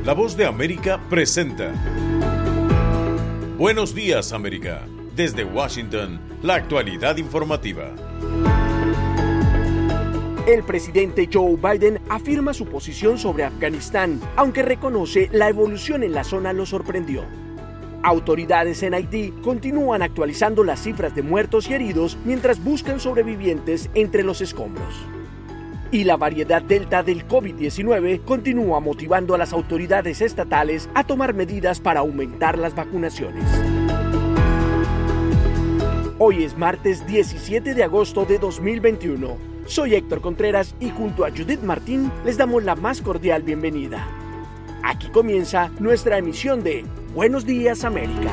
La Voz de América presenta Buenos Días, América. Desde Washington, la actualidad informativa. El presidente Joe Biden afirma su posición sobre Afganistán, aunque reconoce la evolución en la zona lo sorprendió. Autoridades en Haití continúan actualizando las cifras de muertos y heridos mientras buscan sobrevivientes entre los escombros. Y la variedad Delta del COVID-19 continúa motivando a las autoridades estatales a tomar medidas para aumentar las vacunaciones. Hoy es martes 17 de agosto de 2021. Soy Héctor Contreras y junto a Judith Martín les damos la más cordial bienvenida. Aquí comienza nuestra emisión de Buenos Días, América.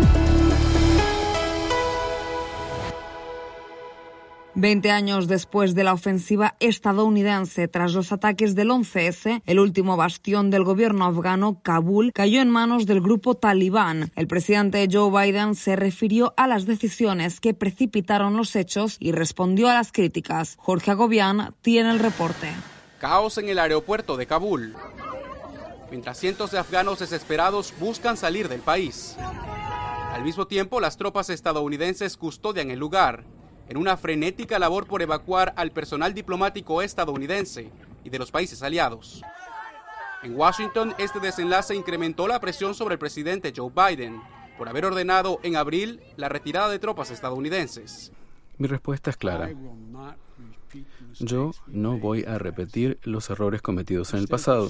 20 años después de la ofensiva estadounidense tras los ataques del 11S, el último bastión del gobierno afgano, Kabul, cayó en manos del grupo talibán. El presidente Joe Biden se refirió a las decisiones que precipitaron los hechos y respondió a las críticas. Jorge Agobián tiene el reporte. Caos en el aeropuerto de Kabul, mientras cientos de afganos desesperados buscan salir del país. Al mismo tiempo, las tropas estadounidenses custodian el lugar, en una frenética labor por evacuar al personal diplomático estadounidense y de los países aliados. En Washington, este desenlace incrementó la presión sobre el presidente Joe Biden por haber ordenado en abril la retirada de tropas estadounidenses. Mi respuesta es clara. Yo no voy a repetir los errores cometidos en el pasado,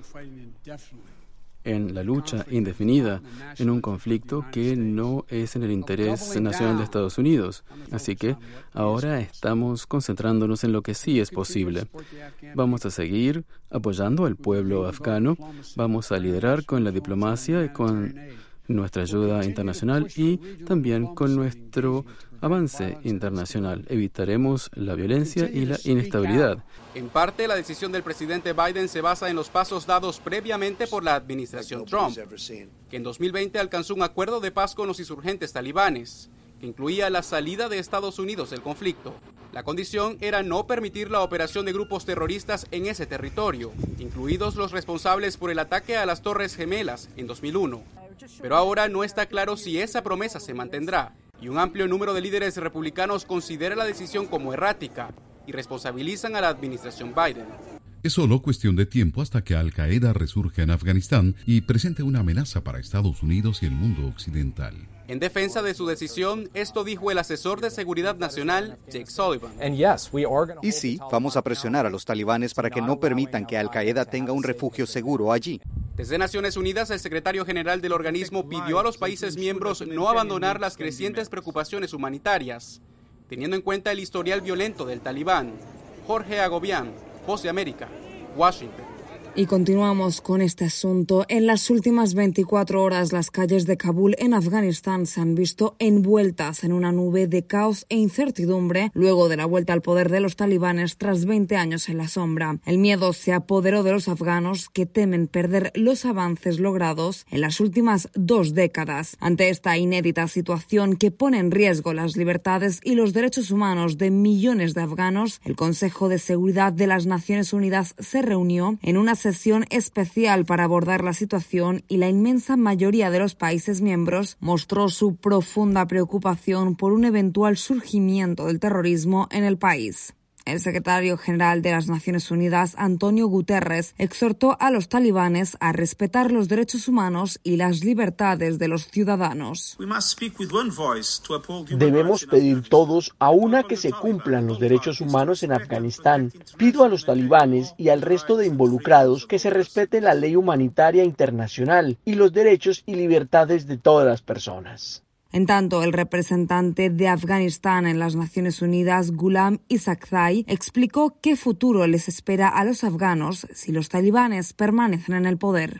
en la lucha indefinida, en un conflicto que no es en el interés nacional de Estados Unidos. Así que ahora estamos concentrándonos en lo que sí es posible. Vamos a seguir apoyando al pueblo afgano, vamos a liderar con la diplomacia y con nuestra ayuda internacional y también con nuestro avance internacional. Evitaremos la violencia y la inestabilidad. En parte, la decisión del presidente Biden se basa en los pasos dados previamente por la administración Trump, que en 2020 alcanzó un acuerdo de paz con los insurgentes talibanes, que incluía la salida de Estados Unidos del conflicto. La condición era no permitir la operación de grupos terroristas en ese territorio, incluidos los responsables por el ataque a las Torres Gemelas en 2001. Pero ahora no está claro si esa promesa se mantendrá, y un amplio número de líderes republicanos considera la decisión como errática y responsabilizan a la administración Biden. Es solo cuestión de tiempo hasta que Al-Qaeda resurja en Afganistán y presente una amenaza para Estados Unidos y el mundo occidental. En defensa de su decisión, esto dijo el asesor de seguridad nacional, Jake Sullivan. Y sí, vamos a presionar a los talibanes para que no permitan que Al-Qaeda tenga un refugio seguro allí. Desde Naciones Unidas, el secretario general del organismo pidió a los países miembros no abandonar las crecientes preocupaciones humanitarias, teniendo en cuenta el historial violento del talibán. Jorge Agobián, Voz de América, Washington. Y continuamos con este asunto. En las últimas 24 horas, las calles de Kabul en Afganistán se han visto envueltas en una nube de caos e incertidumbre luego de la vuelta al poder de los talibanes tras 20 años en la sombra. El miedo se apoderó de los afganos que temen perder los avances logrados en las últimas 2 décadas. Ante esta inédita situación que pone en riesgo las libertades y los derechos humanos de millones de afganos, el Consejo de Seguridad de las Naciones Unidas se reunió en una sesión especial para abordar la situación y la inmensa mayoría de los países miembros mostró su profunda preocupación por un eventual surgimiento del terrorismo en el país. El secretario general de las Naciones Unidas, Antonio Guterres, exhortó a los talibanes a respetar los derechos humanos y las libertades de los ciudadanos. Debemos pedir todos a una que se cumplan los derechos humanos en Afganistán. Pido a los talibanes y al resto de involucrados que se respete la ley humanitaria internacional y los derechos y libertades de todas las personas. En tanto, el representante de Afganistán en las Naciones Unidas, Ghulam Isaaqzai, explicó qué futuro les espera a los afganos si los talibanes permanecen en el poder.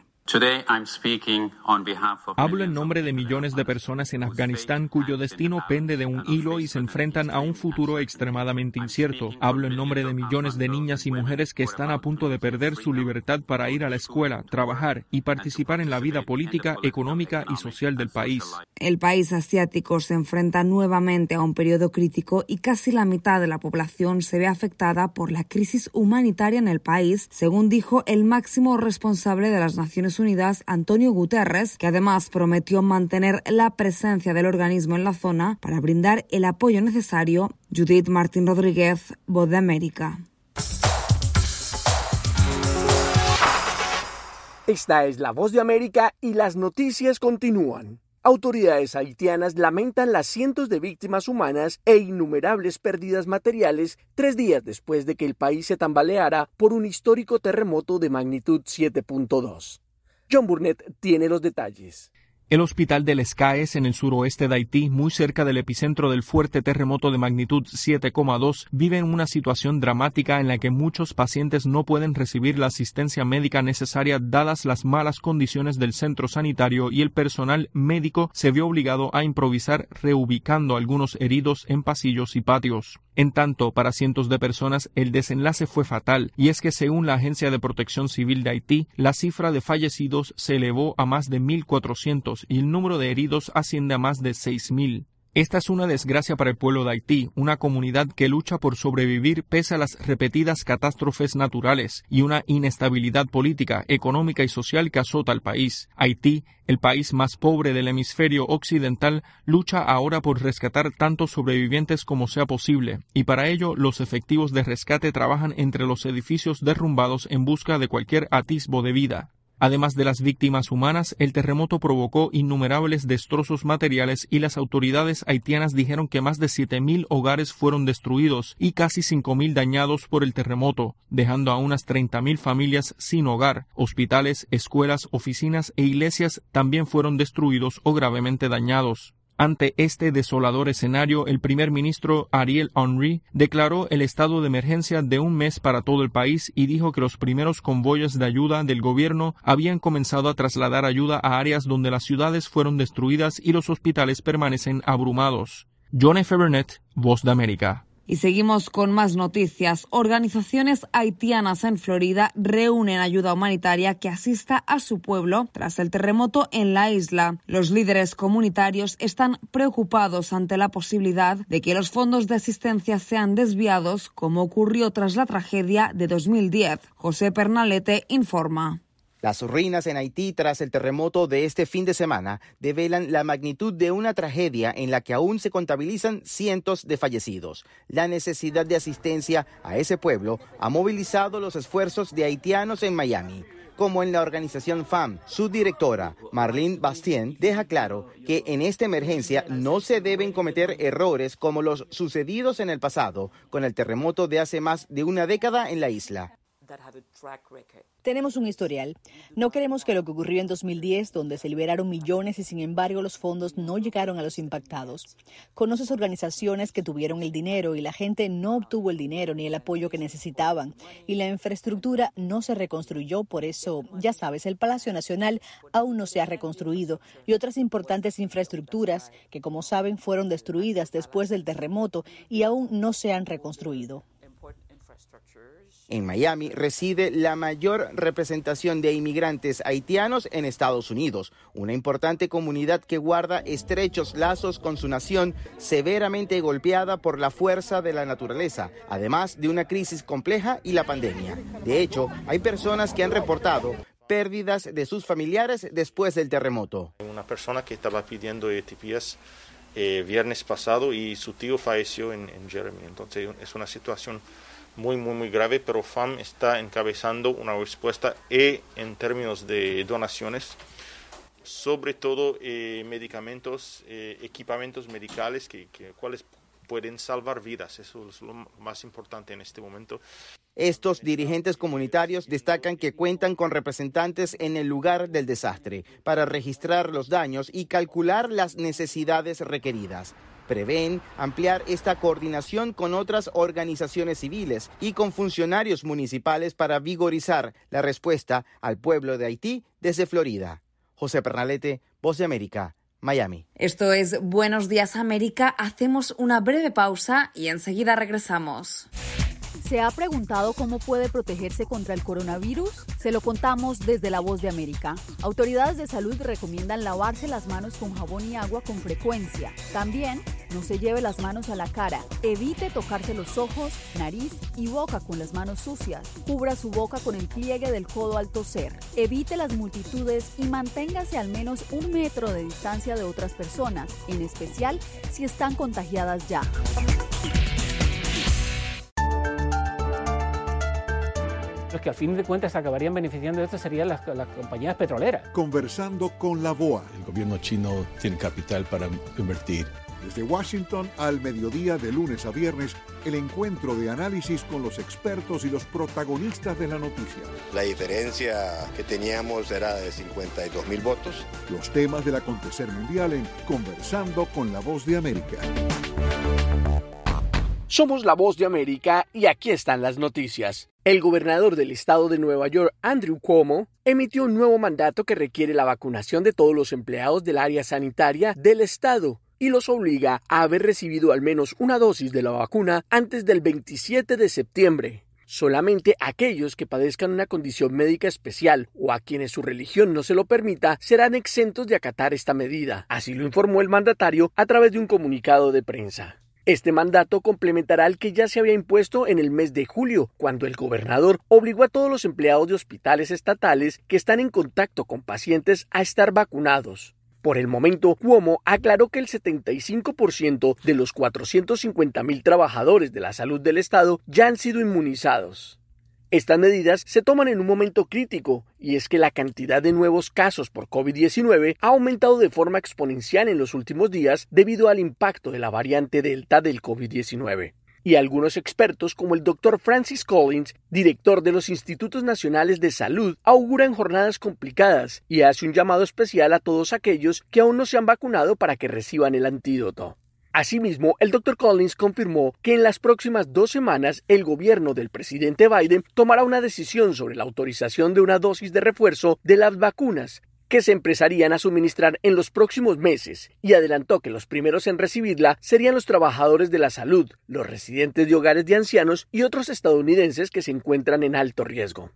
Hablo en nombre de millones de personas en Afganistán cuyo destino pende de un hilo y se enfrentan a un futuro extremadamente incierto. Hablo en nombre de millones de niñas y mujeres que están a punto de perder su libertad para ir a la escuela, trabajar y participar en la vida política, económica y social del país. El país asiático se enfrenta nuevamente a un periodo crítico y casi la mitad de la población se ve afectada por la crisis humanitaria en el país, según dijo el máximo responsable de las Naciones Naciones Unidas, Antonio Guterres, que además prometió mantener la presencia del organismo en la zona para brindar el apoyo necesario. Judith Martín Rodríguez, Voz de América. Esta es la Voz de América y las noticias continúan. Autoridades haitianas lamentan las cientos de víctimas humanas e innumerables pérdidas materiales 3 días después de que el país se tambaleara por un histórico terremoto de magnitud 7.2. John Burnett tiene los detalles. El hospital de Les Cayes, en el suroeste de Haití, muy cerca del epicentro del fuerte terremoto de magnitud 7,2, vive en una situación dramática en la que muchos pacientes no pueden recibir la asistencia médica necesaria dadas las malas condiciones del centro sanitario, y el personal médico se vio obligado a improvisar reubicando a algunos heridos en pasillos y patios. En tanto, para cientos de personas el desenlace fue fatal, y es que según la Agencia de Protección Civil de Haití, la cifra de fallecidos se elevó a más de 1.400 y el número de heridos asciende a más de 6.000. Esta es una desgracia para el pueblo de Haití, una comunidad que lucha por sobrevivir pese a las repetidas catástrofes naturales y una inestabilidad política, económica y social que azota al país. Haití, el país más pobre del hemisferio occidental, lucha ahora por rescatar tantos sobrevivientes como sea posible, y para ello los efectivos de rescate trabajan entre los edificios derrumbados en busca de cualquier atisbo de vida. Además de las víctimas humanas, el terremoto provocó innumerables destrozos materiales y las autoridades haitianas dijeron que más de 7.000 hogares fueron destruidos y casi 5.000 dañados por el terremoto, dejando a unas 30.000 familias sin hogar. Hospitales, escuelas, oficinas e iglesias también fueron destruidos o gravemente dañados. Ante este desolador escenario, el primer ministro Ariel Henry declaró el estado de emergencia de 1 mes para todo el país y dijo que los primeros convoyes de ayuda del gobierno habían comenzado a trasladar ayuda a áreas donde las ciudades fueron destruidas y los hospitales permanecen abrumados. John F. Burnett, Voz de América. Y seguimos con más noticias. Organizaciones haitianas en Florida reúnen ayuda humanitaria que asista a su pueblo tras el terremoto en la isla. Los líderes comunitarios están preocupados ante la posibilidad de que los fondos de asistencia sean desviados, como ocurrió tras la tragedia de 2010. José Pernalete informa. Las ruinas en Haití tras el terremoto de este fin de semana develan la magnitud de una tragedia en la que aún se contabilizan cientos de fallecidos. La necesidad de asistencia a ese pueblo ha movilizado los esfuerzos de haitianos en Miami. Como en la organización FAM, su directora, Marlene Bastien, deja claro que en esta emergencia no se deben cometer errores como los sucedidos en el pasado con el terremoto de hace más de una década en la isla. Tenemos un historial. No queremos que lo que ocurrió en 2010, donde se liberaron millones y sin embargo los fondos no llegaron a los impactados. Conoces organizaciones que tuvieron el dinero y la gente no obtuvo el dinero ni el apoyo que necesitaban. Y la infraestructura no se reconstruyó, por eso, ya sabes, el Palacio Nacional aún no se ha reconstruido y otras importantes infraestructuras que, como saben, fueron destruidas después del terremoto y aún no se han reconstruido. En Miami reside la mayor representación de inmigrantes haitianos en Estados Unidos, una importante comunidad que guarda estrechos lazos con su nación severamente golpeada por la fuerza de la naturaleza, además de una crisis compleja y la pandemia. De hecho, hay personas que han reportado pérdidas de sus familiares después del terremoto. Una persona que estaba pidiendo ETPs viernes pasado y su tío falleció en Jeremy, entonces es una situación muy grave, pero FAM está encabezando una respuesta en términos de donaciones, sobre todo medicamentos, equipamientos medicales cuales pueden salvar vidas. Eso es lo más importante en este momento. Estos dirigentes comunitarios destacan que cuentan con representantes en el lugar del desastre para registrar los daños y calcular las necesidades requeridas. Prevén ampliar esta coordinación con otras organizaciones civiles y con funcionarios municipales para vigorizar la respuesta al pueblo de Haití desde Florida. José Pernalete, Voz de América, Miami. Esto es Buenos Días América. Hacemos una breve pausa y enseguida regresamos. ¿Se ha preguntado cómo puede protegerse contra el coronavirus? Se lo contamos desde La Voz de América. Autoridades de salud recomiendan lavarse las manos con jabón y agua con frecuencia. También No se lleve las manos a la cara. Evite tocarse los ojos, nariz y boca con las manos sucias. Cubra su boca con el pliegue del codo al toser. Evite las multitudes y manténgase al menos 1 metro de distancia de otras personas, en especial si están contagiadas ya. Los que al fin de cuentas se acabarían beneficiando de esto serían las compañías petroleras. Conversando con la BOA. El gobierno chino tiene capital para invertir. Desde Washington al mediodía de lunes a viernes, el encuentro de análisis con los expertos y los protagonistas de la noticia. La diferencia que teníamos era de 52.000 votos. Los temas del acontecer mundial en Conversando con la Voz de América. Somos la Voz de América y aquí están las noticias. El gobernador del estado de Nueva York, Andrew Cuomo, emitió un nuevo mandato que requiere la vacunación de todos los empleados del área sanitaria del estado y los obliga a haber recibido al menos una dosis de la vacuna antes del 27 de septiembre. Solamente aquellos que padezcan una condición médica especial o a quienes su religión no se lo permita serán exentos de acatar esta medida. Así lo informó el mandatario a través de un comunicado de prensa. Este mandato complementará al que ya se había impuesto en el mes de julio, cuando el gobernador obligó a todos los empleados de hospitales estatales que están en contacto con pacientes a estar vacunados. Por el momento, Cuomo aclaró que el 75% de los 450,000 trabajadores de la salud del estado ya han sido inmunizados. Estas medidas se toman en un momento crítico, y es que la cantidad de nuevos casos por COVID-19 ha aumentado de forma exponencial en los últimos días debido al impacto de la variante Delta del COVID-19. Y algunos expertos, como el Dr. Francis Collins, director de los Institutos Nacionales de Salud, auguran jornadas complicadas y hace un llamado especial a todos aquellos que aún no se han vacunado para que reciban el antídoto. Asimismo, el Dr. Collins confirmó que en las próximas 2 semanas el gobierno del presidente Biden tomará una decisión sobre la autorización de una dosis de refuerzo de las vacunas que se empezarían a suministrar en los próximos meses, y adelantó que los primeros en recibirla serían los trabajadores de la salud, los residentes de hogares de ancianos y otros estadounidenses que se encuentran en alto riesgo.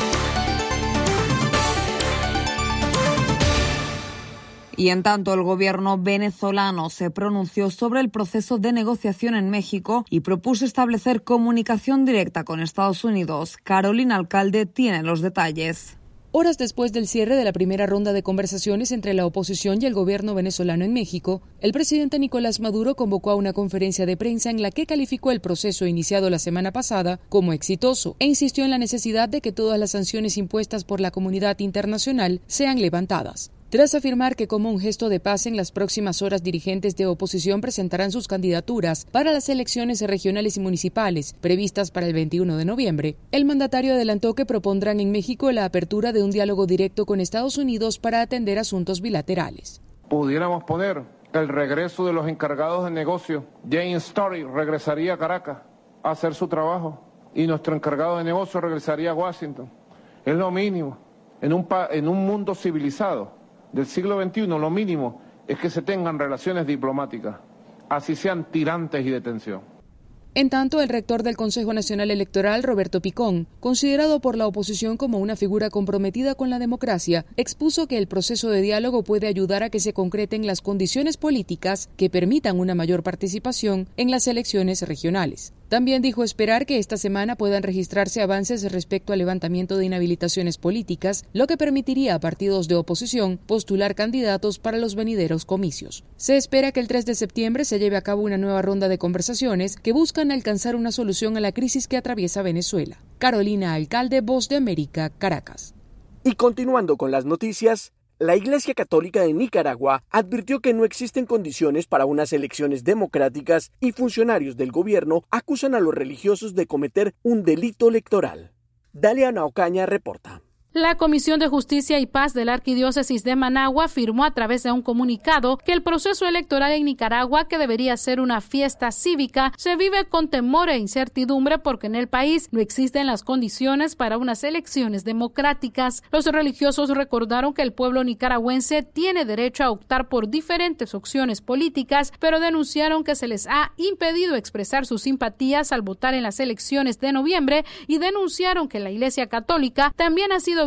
Y en tanto, el gobierno venezolano se pronunció sobre el proceso de negociación en México y propuso establecer comunicación directa con Estados Unidos. Carolina Alcalde tiene los detalles. Horas después del cierre de la primera ronda de conversaciones entre la oposición y el gobierno venezolano en México, el presidente Nicolás Maduro convocó a una conferencia de prensa en la que calificó el proceso iniciado la semana pasada como exitoso e insistió en la necesidad de que todas las sanciones impuestas por la comunidad internacional sean levantadas. Tras afirmar que como un gesto de paz en las próximas horas dirigentes de oposición presentarán sus candidaturas para las elecciones regionales y municipales previstas para el 21 de noviembre, el mandatario adelantó que propondrán en México la apertura de un diálogo directo con Estados Unidos para atender asuntos bilaterales. Pudiéramos poner el regreso de los encargados de negocio. James Story regresaría a Caracas a hacer su trabajo y nuestro encargado de negocio regresaría a Washington. Es lo mínimo. En un mundo civilizado del siglo XXI, lo mínimo es que se tengan relaciones diplomáticas, así sean tirantes y de tensión. En tanto, el rector del Consejo Nacional Electoral, Roberto Picón, considerado por la oposición como una figura comprometida con la democracia, expuso que el proceso de diálogo puede ayudar a que se concreten las condiciones políticas que permitan una mayor participación en las elecciones regionales. También dijo esperar que esta semana puedan registrarse avances respecto al levantamiento de inhabilitaciones políticas, lo que permitiría a partidos de oposición postular candidatos para los venideros comicios. Se espera que el 3 de septiembre se lleve a cabo una nueva ronda de conversaciones que buscan alcanzar una solución a la crisis que atraviesa Venezuela. Carolina Alcalde, Voz de América, Caracas. Y continuando con las noticias, la Iglesia Católica de Nicaragua advirtió que no existen condiciones para unas elecciones democráticas y funcionarios del gobierno acusan a los religiosos de cometer un delito electoral. Dalia Ocaña reporta. La Comisión de Justicia y Paz de la Arquidiócesis de Managua afirmó a través de un comunicado que el proceso electoral en Nicaragua, que debería ser una fiesta cívica, se vive con temor e incertidumbre porque en el país no existen las condiciones para unas elecciones democráticas. Los religiosos recordaron que el pueblo nicaragüense tiene derecho a optar por diferentes opciones políticas, pero denunciaron que se les ha impedido expresar sus simpatías al votar en las elecciones de noviembre y denunciaron que la Iglesia Católica también ha sido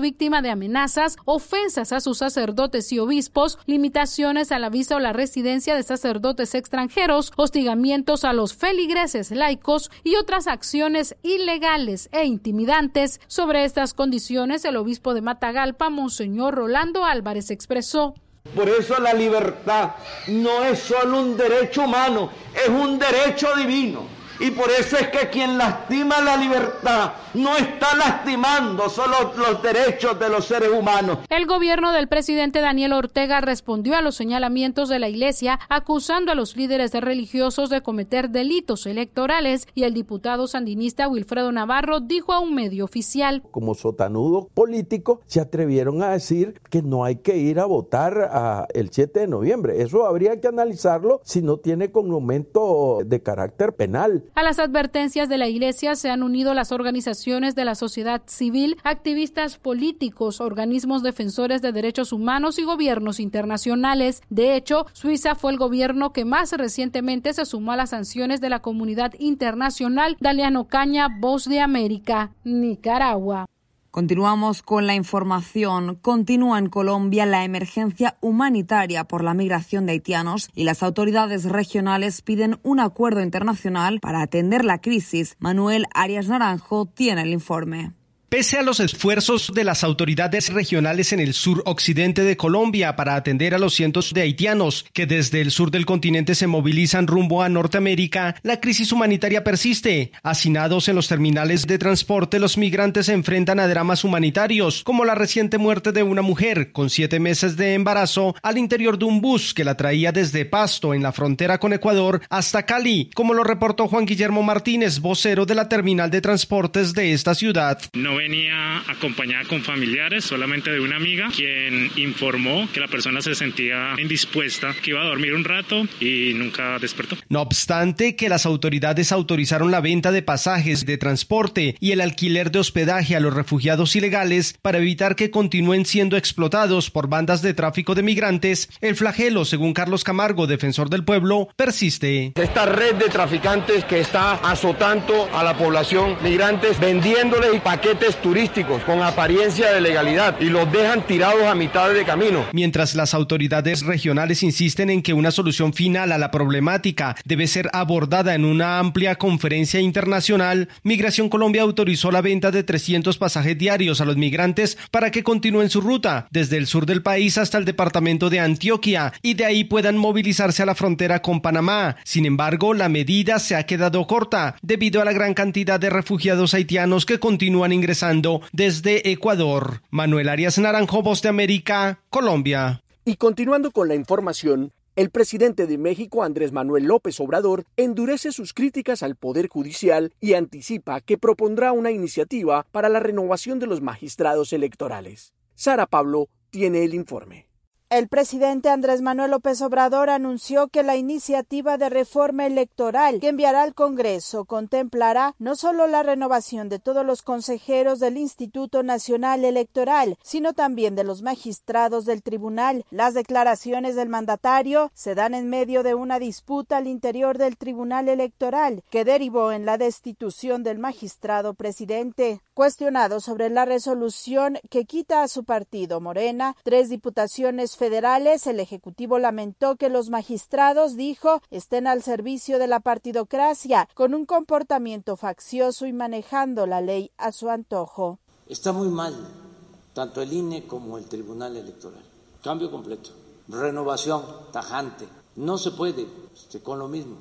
víctima de amenazas, ofensas a sus sacerdotes y obispos, limitaciones a la visa o la residencia de sacerdotes extranjeros, hostigamientos a los feligreses laicos y otras acciones ilegales e intimidantes. Sobre estas condiciones, el obispo de Matagalpa, Monseñor Rolando Álvarez, expresó: por eso la libertad no es solo un derecho humano, es un derecho divino. Y por eso es que quien lastima la libertad no está lastimando solo los derechos de los seres humanos. El gobierno del presidente Daniel Ortega respondió a los señalamientos de la Iglesia, acusando a los líderes religiosos de cometer delitos electorales, y el diputado sandinista Wilfredo Navarro dijo a un medio oficial: como sotanudo político se atrevieron a decir que no hay que ir a votar el 7 de noviembre. Eso habría que analizarlo si no tiene condimento de carácter penal. A las advertencias de la Iglesia se han unido las organizaciones de la sociedad civil, activistas políticos, organismos defensores de derechos humanos y gobiernos internacionales. De hecho, Suiza fue el gobierno que más recientemente se sumó a las sanciones de la comunidad internacional. Daliano Caña, Voz de América, Nicaragua. Continuamos con la información. Continúa en Colombia la emergencia humanitaria por la migración de haitianos y las autoridades regionales piden un acuerdo internacional para atender la crisis. Manuel Arias Naranjo tiene el informe. Pese a los esfuerzos de las autoridades regionales en el sur occidente de Colombia para atender a los cientos de haitianos que desde el sur del continente se movilizan rumbo a Norteamérica, la crisis humanitaria persiste. Hacinados en los terminales de transporte, los migrantes se enfrentan a dramas humanitarios, como la reciente muerte de una mujer con 7 meses de embarazo al interior de un bus que la traía desde Pasto, en la frontera con Ecuador, hasta Cali, como lo reportó Juan Guillermo Martínez, vocero de la terminal de transportes de esta ciudad. No venía acompañada con familiares, solamente de una amiga, quien informó que la persona se sentía indispuesta, que iba a dormir un rato y nunca despertó. No obstante que las autoridades autorizaron la venta de pasajes de transporte y el alquiler de hospedaje a los refugiados ilegales para evitar que continúen siendo explotados por bandas de tráfico de migrantes, el flagelo, según Carlos Camargo, defensor del pueblo, persiste. Esta red de traficantes que está azotando a la población migrantes, vendiéndoles paquetes turísticos con apariencia de legalidad y los dejan tirados a mitad de camino. Mientras las autoridades regionales insisten en que una solución final a la problemática debe ser abordada en una amplia conferencia internacional, Migración Colombia autorizó la venta de 300 pasajes diarios a los migrantes para que continúen su ruta desde el sur del país hasta el departamento de Antioquia y de ahí puedan movilizarse a la frontera con Panamá. Sin embargo, la medida se ha quedado corta debido a la gran cantidad de refugiados haitianos que continúan ingresando desde Ecuador. Manuel Arias Naranjo, Voz de América, Colombia. Y continuando con la información, el presidente de México, Andrés Manuel López Obrador, endurece sus críticas al Poder Judicial y anticipa que propondrá una iniciativa para la renovación de los magistrados electorales. Sara Pablo tiene el informe. El presidente Andrés Manuel López Obrador anunció que la iniciativa de reforma electoral que enviará al Congreso contemplará no solo la renovación de todos los consejeros del Instituto Nacional Electoral, sino también de los magistrados del tribunal. Las declaraciones del mandatario se dan en medio de una disputa al interior del Tribunal Electoral que derivó en la destitución del magistrado presidente. Cuestionado sobre la resolución que quita a su partido Morena 3 diputaciones federales, el Ejecutivo lamentó que los magistrados, dijo, estén al servicio de la partidocracia, con un comportamiento faccioso y manejando la ley a su antojo. Está muy mal, tanto el INE como el Tribunal Electoral. Cambio completo, renovación tajante. No se puede con lo mismo.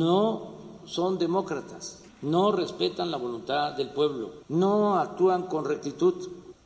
No son demócratas, no respetan la voluntad del pueblo, no actúan con rectitud,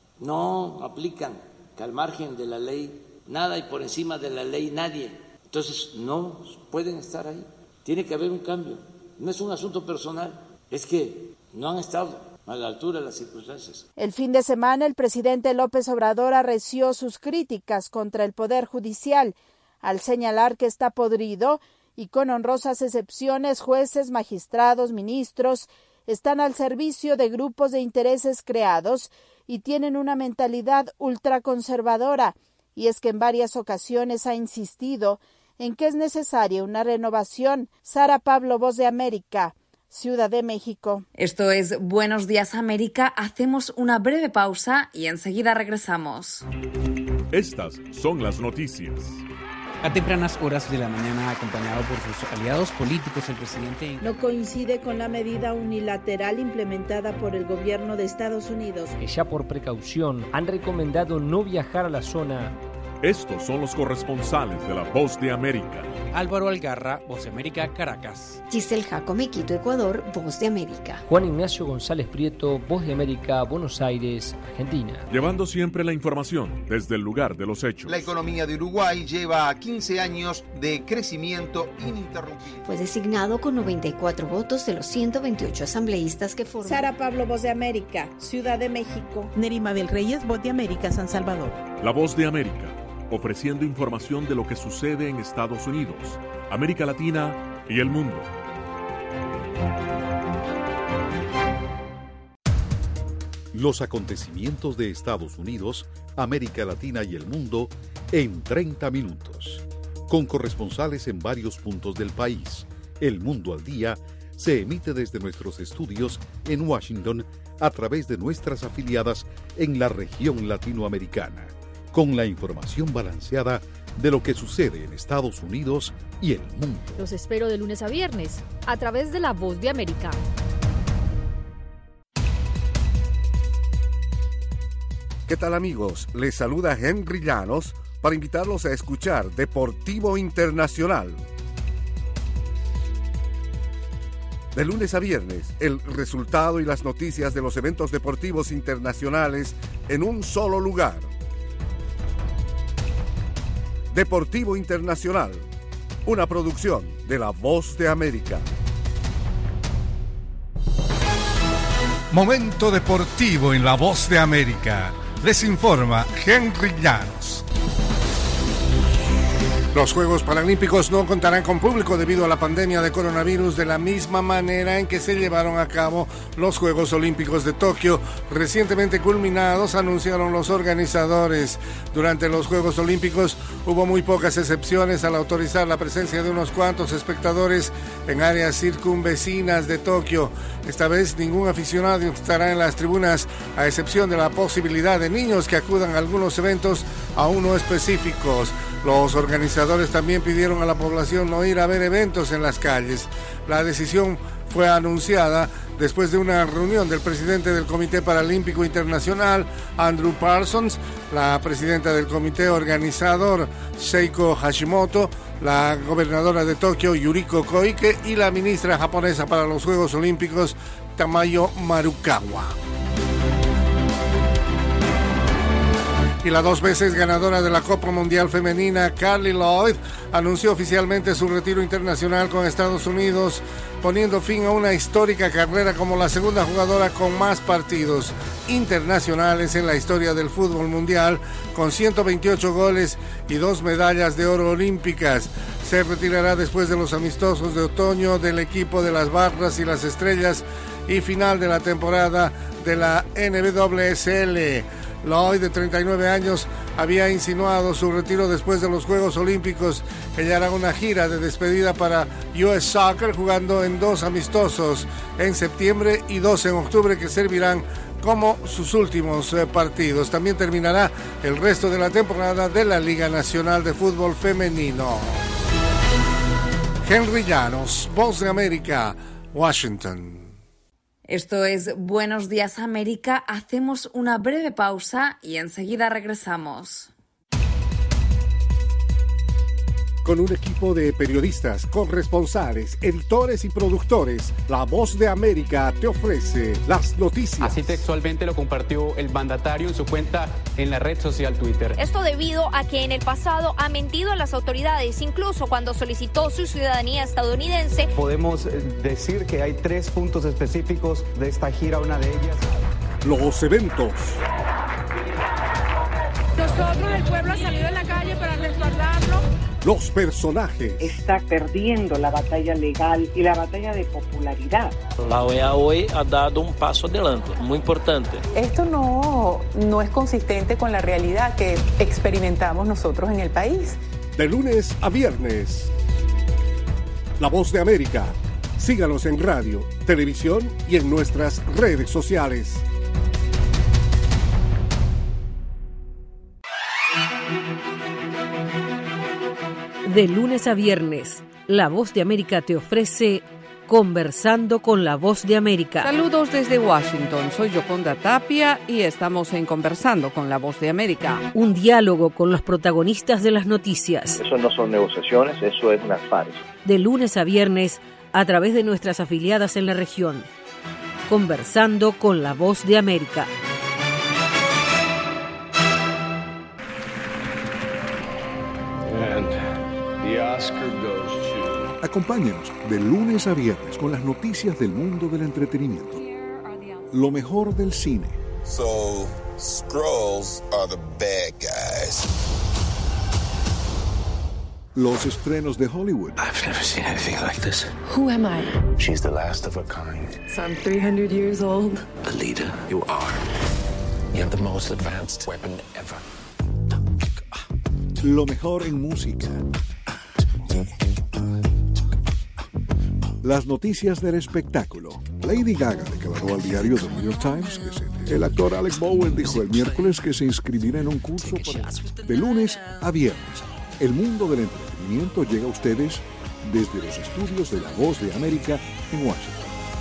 no aplican que al margen de la ley nada y por encima de la ley nadie. Entonces no pueden estar ahí. Tiene que haber un cambio. No es un asunto personal, es que no han estado a la altura de las circunstancias. El fin de semana, el presidente López Obrador arreció sus críticas contra el Poder Judicial al señalar que está podrido y con honrosas excepciones, jueces, magistrados, ministros están al servicio de grupos de intereses creados y tienen una mentalidad ultraconservadora. Y es que en varias ocasiones ha insistido en que es necesaria una renovación. Sara Pablo, Voz de América, Ciudad de México. Esto es Buenos Días América. Hacemos una breve pausa y enseguida regresamos. Estas son las noticias. A tempranas horas de la mañana, acompañado por sus aliados políticos, el presidente no coincide con la medida unilateral implementada por el gobierno de Estados Unidos. Que ya por precaución han recomendado no viajar a la zona. Estos son los corresponsales de La Voz de América. Álvaro Algarra, Voz de América, Caracas. Giselle Jacome, Quito, Ecuador, Voz de América. Juan Ignacio González Prieto, Voz de América, Buenos Aires, Argentina. Llevando siempre la información desde el lugar de los hechos. La economía de Uruguay lleva 15 años de crecimiento ininterrumpido. Fue designado con 94 votos de los 128 asambleístas que forman. Sara Pablo, Voz de América, Ciudad de México. Nerima del Reyes, Voz de América, San Salvador. La Voz de América, ofreciendo información de lo que sucede en Estados Unidos, América Latina y el mundo. Los acontecimientos de Estados Unidos, América Latina y el mundo en 30 minutos. Con corresponsales en varios puntos del país. El Mundo al Día se emite desde nuestros estudios en Washington a través de nuestras afiliadas en la región latinoamericana, con la información balanceada de lo que sucede en Estados Unidos y el mundo. Los espero de lunes a viernes, a través de La Voz de América. ¿Qué tal, amigos? Les saluda Henry Llanos para invitarlos a escuchar Deportivo Internacional. De lunes a viernes, el resultado y las noticias de los eventos deportivos internacionales en un solo lugar. Deportivo Internacional, una producción de La Voz de América. Momento deportivo en La Voz de América. Les informa Henry Llanos. Los Juegos Paralímpicos no contarán con público debido a la pandemia de coronavirus de la misma manera en que se llevaron a cabo los Juegos Olímpicos de Tokio, recientemente culminados, anunciaron los organizadores. Durante los Juegos Olímpicos hubo muy pocas excepciones al autorizar la presencia de unos cuantos espectadores en áreas circunvecinas de Tokio. Esta vez ningún aficionado estará en las tribunas, a excepción de la posibilidad de niños que acudan a algunos eventos aún no específicos. Los organizadores también pidieron a la población no ir a ver eventos en las calles. La decisión fue anunciada después de una reunión del presidente del Comité Paralímpico Internacional, Andrew Parsons, la presidenta del comité organizador, Seiko Hashimoto, la gobernadora de Tokio, Yuriko Koike, y la ministra japonesa para los Juegos Olímpicos, Tamayo Marukawa. Y la 2 veces ganadora de la Copa Mundial Femenina, Carli Lloyd, anunció oficialmente su retiro internacional con Estados Unidos, poniendo fin a una histórica carrera como la segunda jugadora con más partidos internacionales en la historia del fútbol mundial, con 128 goles y 2 medallas de oro olímpicas. Se retirará después de los amistosos de otoño del equipo de las Barras y las Estrellas y final de la temporada de la NWSL. Lloyd, de 39 años, había insinuado su retiro después de los Juegos Olímpicos. Ella hará una gira de despedida para US Soccer, jugando en 2 amistosos en septiembre y 2 en octubre, que servirán como sus últimos partidos. También terminará el resto de la temporada de la Liga Nacional de Fútbol Femenino. Henry Llanos, Voz de América, Washington. Esto es Buenos Días América. Hacemos una breve pausa y enseguida regresamos. Con un equipo de periodistas, corresponsales, editores y productores, La Voz de América te ofrece las noticias. Así textualmente lo compartió el mandatario en su cuenta en la red social Twitter. Esto debido a que en el pasado ha mentido a las autoridades, incluso cuando solicitó su ciudadanía estadounidense. Podemos decir que hay 3 puntos específicos de esta gira, una de ellas. Los eventos. Nosotros, el pueblo, ha salido en la calle para respaldarlo. Los personajes. Está perdiendo la batalla legal y la batalla de popularidad. La OEA hoy ha dado un paso adelante, muy importante. Esto no es consistente con la realidad que experimentamos nosotros en el país. De lunes a viernes. La Voz de América, Síganos en radio, televisión y en nuestras redes sociales. De lunes a viernes, La Voz de América te ofrece Conversando con La Voz de América. Saludos desde Washington, soy Yoconda Tapia y estamos en Conversando con La Voz de América. Un diálogo con los protagonistas de las noticias. Eso no son negociaciones, eso es una farsa. De lunes a viernes, a través de nuestras afiliadas en la región. Conversando con La Voz de América. And the Oscar goes to... Acompáñenos de lunes a viernes con las noticias del mundo del entretenimiento. Lo mejor del cine. So, Skrulls are the bad guys. Los estrenos de Hollywood. I've never seen anything like this. Who am I? She's the last of her kind. So I'm 300 years old. Alita, you are. You have the most advanced weapon ever. Lo mejor en música. Las noticias del espectáculo. Lady Gaga declaró al diario The New York Times que el actor Alec Bowen dijo el miércoles que se inscribirá en un curso de lunes a viernes. El mundo del entretenimiento llega a ustedes desde los estudios de La Voz de América en Washington.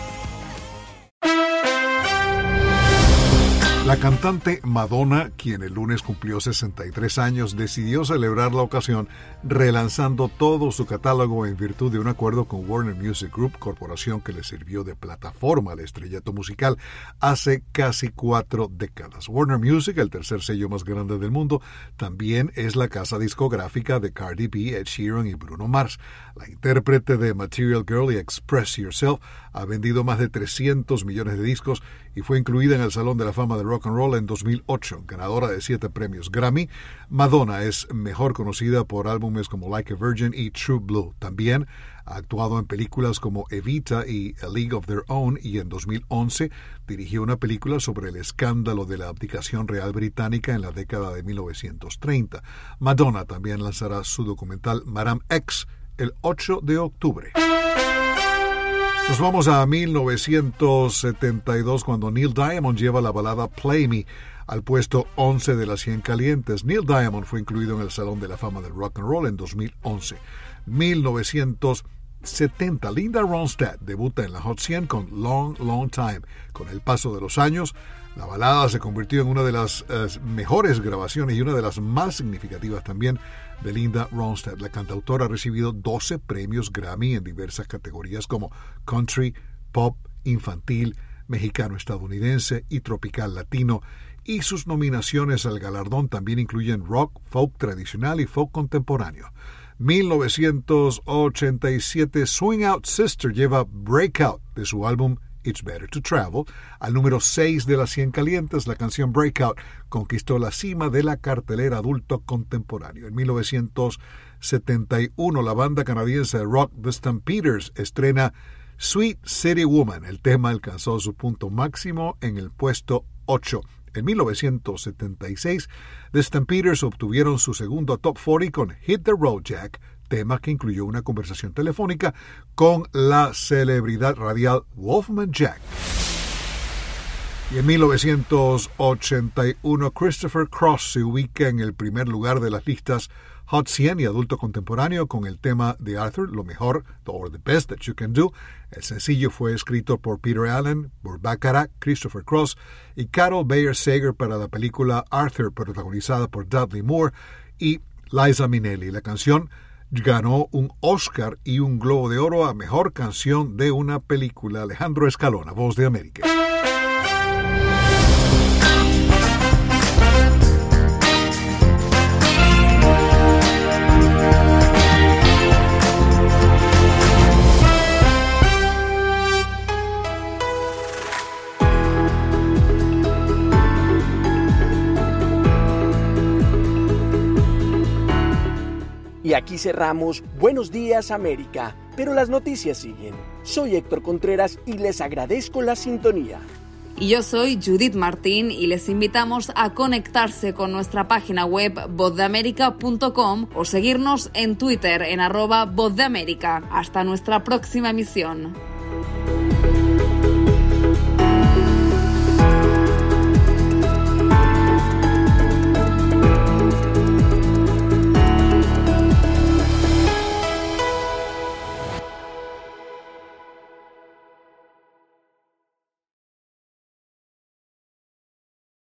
La cantante Madonna, quien el lunes cumplió 63 años, decidió celebrar la ocasión relanzando todo su catálogo en virtud de un acuerdo con Warner Music Group, corporación que le sirvió de plataforma al estrellato musical hace casi 4 décadas. Warner Music, el tercer sello más grande del mundo, también es la casa discográfica de Cardi B, Ed Sheeran y Bruno Mars. La intérprete de Material Girl y Express Yourself ha vendido más de 300 millones de discos y fue incluida en el Salón de la Fama de Rock and Roll en 2008, ganadora de 7 premios Grammy. Madonna es mejor conocida por álbumes como Like a Virgin y True Blue. También ha actuado en películas como Evita y A League of Their Own, y en 2011 dirigió una película sobre el escándalo de la abdicación real británica en la década de 1930. Madonna también lanzará su documental Madame X el 8 de octubre. Nos vamos a 1972, cuando Neil Diamond lleva la balada Play Me al puesto 11 de las 100 calientes. Neil Diamond fue incluido en el Salón de la Fama del Rock and Roll en 2011. 1970, Linda Ronstadt debuta en la Hot 100 con Long, Long Time. Con el paso de los años, la balada se convirtió en una de las mejores grabaciones y una de las más significativas también de Linda Ronstadt. La cantautora ha recibido 12 premios Grammy en diversas categorías como country, pop, infantil, mexicano-estadounidense y tropical latino, y sus nominaciones al galardón también incluyen rock, folk tradicional y folk contemporáneo. 1987, Swing Out Sister lleva Breakout de su álbum It's Better to Travel al número 6 de las 100 calientes. La canción Breakout conquistó la cima de la cartelera adulto contemporáneo. En 1971, la banda canadiense de rock The Stampeders estrena Sweet City Woman. El tema alcanzó su punto máximo en el puesto 8. En 1976, The Stampeders obtuvieron su segundo Top 40 con Hit the Road Jack, tema que incluyó una conversación telefónica con la celebridad radial Wolfman Jack. Y en 1981, Christopher Cross se ubica en el primer lugar de las listas Hot 100 y adulto contemporáneo con el tema de Arthur, Lo Mejor, or The Best That You Can Do. El sencillo fue escrito por Peter Allen, por Bacharach, Christopher Cross y Carol Bayer Sager para la película Arthur, protagonizada por Dudley Moore y Liza Minnelli. La canción ganó un Oscar y un Globo de Oro a Mejor Canción de una Película. Alejandro Escalona, Voz de América. Y aquí cerramos Buenos Días América, pero las noticias siguen. Soy Héctor Contreras y les agradezco la sintonía. Y yo soy Judith Martín y les invitamos a conectarse con nuestra página web vozdeamerica.com o seguirnos en Twitter en @vozdeamerica. Hasta nuestra próxima emisión.